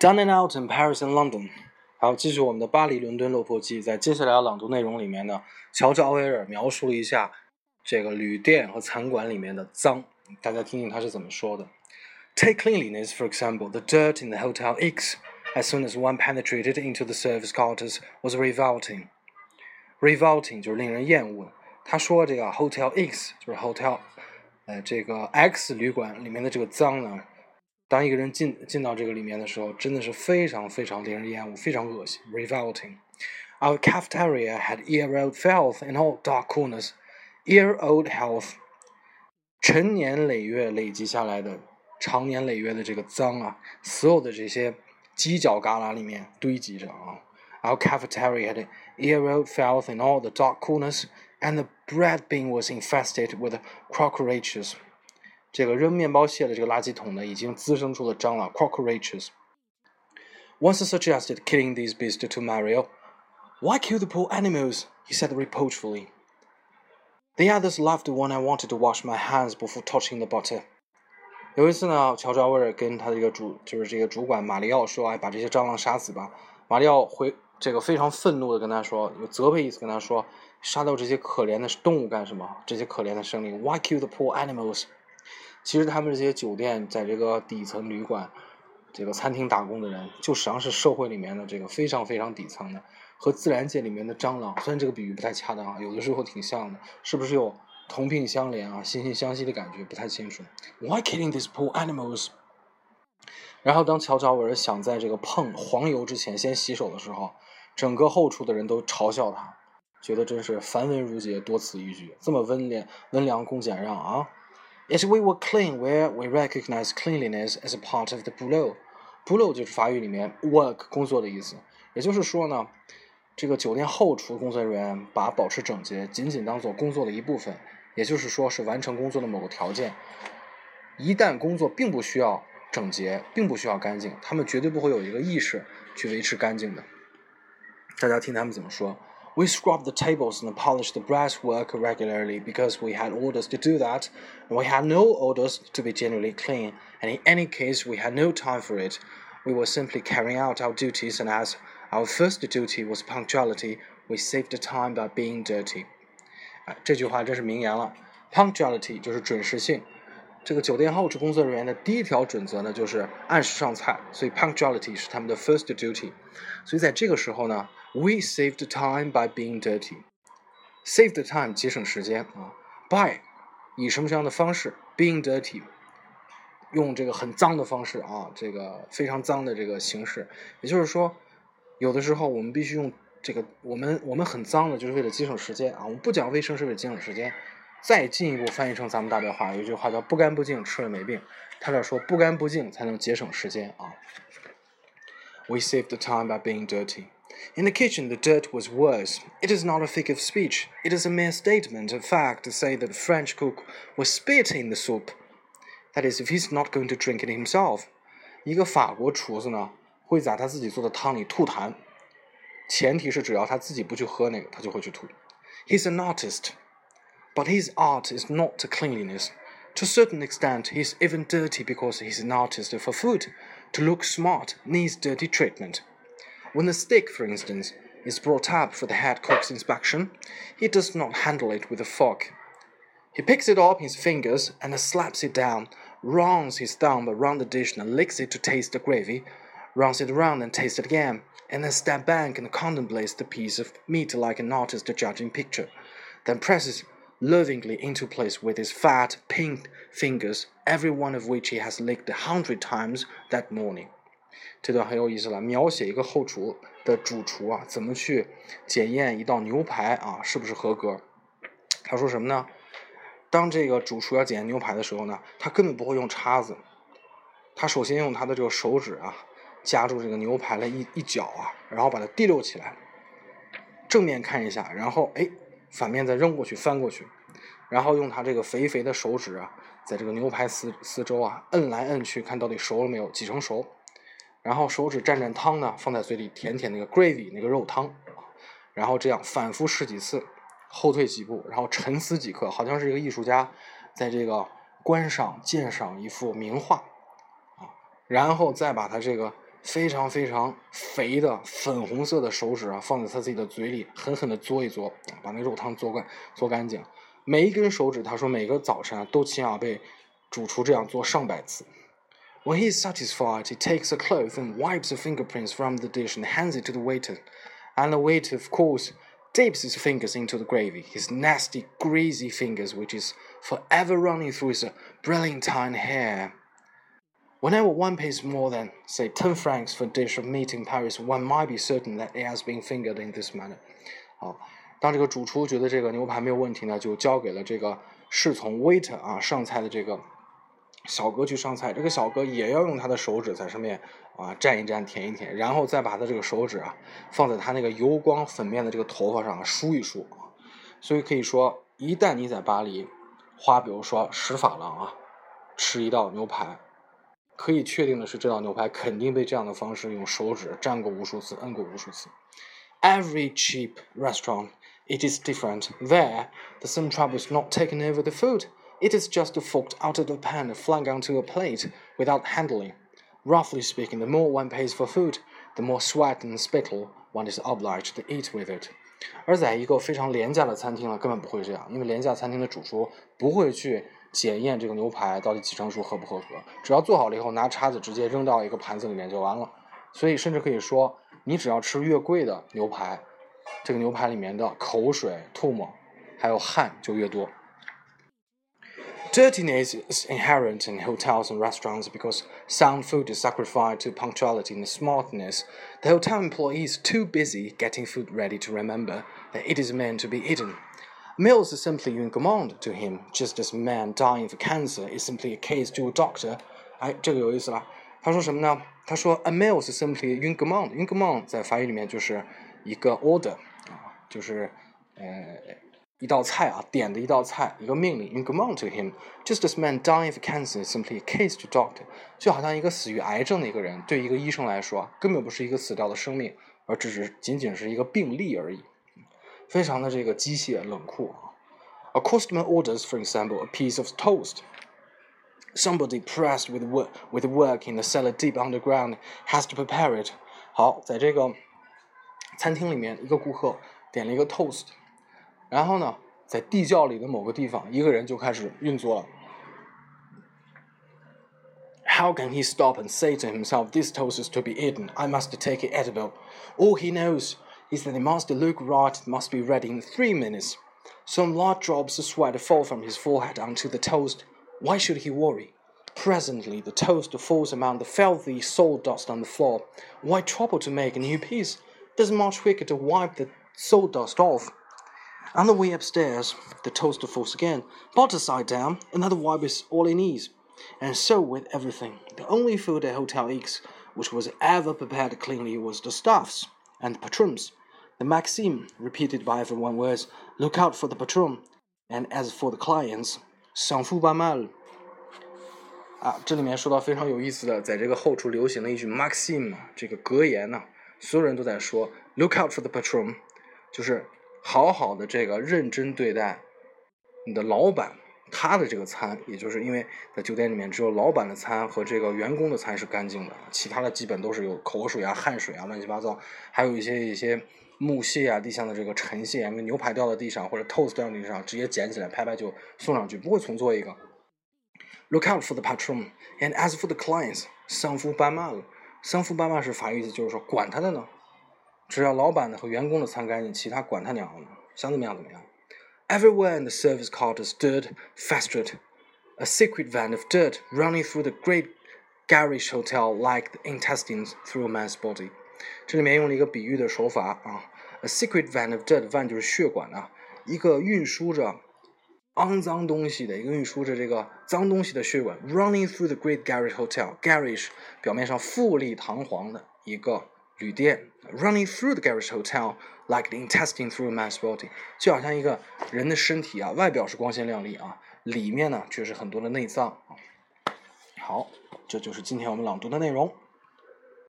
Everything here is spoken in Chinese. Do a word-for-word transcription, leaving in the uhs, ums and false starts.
Down and out in Paris and London。好，继续我们的巴黎、伦敦落魄记。在接下来的朗读内容里面呢，乔治·奥威尔描述了一下这个旅店和餐馆里面的脏，大家听听他是怎么说的。Take cleanliness, for example. The dirt in the Hotel X, as soon as one penetrated into the service quarters, was revolting. Revolting 就是令人厌恶。他说这个 Hotel X 就是 Hotel， 呃，这个 X 旅馆里面的这个脏呢。当一个人进进到这个里面的时候，真的是非常非常令人厌恶，非常恶心 revolting. Our cafeteria had year-old filth in all dark corners. Year-old health， 陈年累月累积下来的，长年累月的这个脏啊，所有的这些犄角旮旯里面堆积着啊。Our cafeteria had year-old filth in all the dark corners, and the bread bin was infested with cockroaches.这个扔面包屑的这个垃圾桶呢，已经滋生出了蟑螂 cockroaches. Once suggested killing these beasts to Mario. Why kill the poor animals? He said reproachfully. The others laughed when I wanted to wash my hands before touching the butter. 有一次呢，乔治奥威尔跟他这个主就是这个主管马里奥说：“哎，把这些蟑螂杀死吧。”马里奥回这个非常愤怒的跟他说，有责备意思跟他说：“杀掉这些可怜的动物干什么？这些可怜的生灵 ？Why kill the poor animals?”其实他们这些酒店在这个底层旅馆这个餐厅打工的人，就实际上是社会里面的这个非常非常底层的，和自然界里面的蟑螂，虽然这个比喻不太恰当啊，有的时候挺像的，是不是有同病相怜啊惺惺相惜的感觉，不太清楚。 Why killing these poor animals？ 然后当乔治奥威尔想在这个碰黄油之前先洗手的时候，整个后厨的人都嘲笑他，觉得真是繁文缛节，多此一举，这么温良温良恭俭让啊。Yet we were clean where we recognize cleanliness as a part of the boulot. Boulot 就是法语里面 work 工作的意思，也就是说呢，这个酒店后厨工作人员把保持整洁仅仅当做工作的一部分，也就是说是完成工作的某个条件。一旦工作并不需要整洁，并不需要干净，他们绝对不会有一个意识去维持干净的。大家听他们怎么说。We scrubbed the tables and polished the brasswork regularly because we had orders to do that, and we had no orders to be generally clean, and in any case we had no time for it. We were simply carrying out our duties, and as our first duty was punctuality, we saved time by being dirty. 啊，这句话真是名言了。Punctuality 就是准时性。这个酒店后厨工作人员的第一条准则呢，就是按时上菜，所以 punctuality 是他们的 first duty。所以在这个时候呢 ，we saved time by being dirty。Save the time 节省时间啊 ，by 以什么什么样的方式 being dirty， 用这个很脏的方式啊，这个非常脏的这个形式，也就是说，有的时候我们必须用这个，我们我们很脏的，就是为了节省时间啊，我们不讲卫生是为了节省时间。再进一步翻译成咱们大白话，有一句话叫不干不净吃了没病，他这说不干不净才能节省时间啊。We saved the time by being dirty. In the kitchen, the dirt was worse. It is not a figure of speech. It is a mere statement of fact to say that the French cook was spitting the soup. That is, if he's not going to drink it himself. 一个法国厨子呢，会在他自己做的汤里吐痰，前提是只要他自己不去喝那个，他就会去吐。He's an artist.But his art is not cleanliness. To a certain extent, he's even dirty because he's an artist for food. To look smart needs dirty treatment. When the steak, for instance, is brought up for the head cook's inspection, he does not handle it with a fork. He picks it up in his fingers and slaps it down, runs his thumb around the dish and licks it to taste the gravy, runs it around and tastes it again, and then steps back and contemplates the piece of meat like an artist judging picture, then presses lovingly into place with his fat, pink fingers, every one of which he has licked a hundred times that morning. 这段很有意思了，描写一个后厨的主厨啊，怎么去检验一道牛排啊是不是合格。他说什么呢？当这个主厨要检验牛排的时候呢，他根本不会用叉子，他首先用他的这个手指啊，夹住这个牛排的一一角啊，然后把它提溜起来，正面看一下，然后哎。反面再扔过去翻过去，然后用他这个肥肥的手指啊，在这个牛排四四周啊摁来摁去，看到底熟了没有，几成熟。然后手指蘸蘸汤呢，放在嘴里舔舔那个 gravy 那个肉汤，然后这样反复试几次，后退几步，然后沉思几刻，好像是一个艺术家在这个观赏鉴赏一幅名画啊，然后再把它这个非常非常肥的粉红色的手指啊，放在他自己的嘴里，狠狠地嘬一嘬，把那肉汤嘬干嘬干净。每一根手指，他说每个早晨啊，都起码被主厨这样做上百次。When he is satisfied, he takes a cloth and wipes the fingerprints from the dish and hands it to the waiter. And the waiter, of course, dips his fingers into the gravy, his nasty, greasy fingers, which is forever running through his brilliantine hair.Whenever one pays more than, say, ten francs for a dish of meat in Paris, one might be certain that it has been fingered in this manner. 好，当这个主厨觉得这个牛排没有问题呢，就交给了这个侍从 waiter 啊上菜的这个小哥去上菜。这个小哥也要用他的手指在上面啊蘸一蘸、舔一舔，然后再把他这个手指啊放在他那个油光粉面的这个头发上梳一梳。所以可以说，一旦你在巴黎花，比如说十法郎啊，吃一道牛排。可以确定的是，这道牛排肯定被这样的方式用手指蘸过无数次、摁过无数次。Every cheap restaurant, it is different. There, the same trouble is not taken over the food. It is just forked out of the pan and flung onto a plate without handling. Roughly speaking, the more one pays for food, the more sweat and spittle one is obliged to eat with it. 而在一个非常廉价的餐厅呢，根本不会这样，因为廉价餐厅的主厨不会去检验这个牛排到底几成熟合不合格，只要做好了以后，拿叉子直接扔到一个盘子里面就完了。所以甚至可以说，你只要吃越贵的牛排，这个牛排里面的口水、唾沫还有汗就越多。Dirtiness is inherent in hotels and restaurants because sound food is sacrificed to punctuality and smartness. The hotel employee is too busy getting food ready to remember that it is meant to be eaten. Meals is simply une commande to him, just as man dying of cancer is simply a case to a doctor. 哎，这个有意思了。他说什么呢？他说 a meal is simply une commande. Une commande 在法语里面就是一个 order 啊，就是呃一道菜啊，点的一道菜，一个命令。une commande to him, just as man dying of cancer is simply a case to doctor. 就好像一个死于癌症的一个人，对一个医生来说，根本不是一个死掉的生命，而只是仅仅是一个病例而已。非常的这个机械冷酷啊。A customer orders, for example, a piece of toast. Somebody pressed with work, with work in the cellar deep underground has to prepare it. 好，在这个餐厅里面，一个顾客点了一个 toast， 然后呢，在地窖里的某个地方，一个人就开始运作了。How can he stop and say to himself, this toast is to be eaten, I must take it edible? All he knows is that it must look right, it must be ready in three minutes. Some large drops of sweat fall from his forehead onto the toast. Why should he worry? Presently, the toast falls among the filthy sawdust on the floor. Why trouble to make a new piece? It is much quicker to wipe the sawdust off. On the way upstairs, the toast falls again. Butter side down, another wipe is all it needs. And so with everything. The only food at Hotel X which was ever prepared cleanly was the stuffs and the patrons.The maxim repeated by everyone was, look out for the patron, and as for the clients, s'en fout pas mal. 啊，这里面说到非常有意思的，在这个后厨流行的一句 maxim 这个格言呢、啊，所有人都在说 look out for the patron， 就是好好的这个认真对待你的老板他的这个餐，也就是因为在酒店里面只有老板的餐和这个员工的餐是干净的，其他的基本都是有口水啊、汗水啊、乱七八糟，还有一些一些木屑啊、地上的这个尘屑，因为牛排掉到地上或者 toast 掉到地上，直接捡起来拍拍就送上去，不会重做一个。Look out for the patron, and as for the clients, 桑夫斑马了。桑夫斑马是法语意思，就是说管他的呢，只要老板的和员工的餐干净，其他管他娘的，想怎么样怎么样。Everywhere in the service quarters dirt festered, a secret van of dirt running through the great garish hotel like the intestines through a man's body. 这里面用了一个比喻的手法啊 ，a secret van of dirt, van 就是血管啊，一个运输着肮脏东西的，一个运输着这个脏东西的血管 ，running through the great garish hotel. Garish 表面上富丽堂皇的一个旅店 ，running through the garish hotel like the intestine through a man's body， 就好像一个人的身体啊，外表是光鲜亮丽啊，里面呢却是很多的内脏啊。好，这就是今天我们朗读的内容。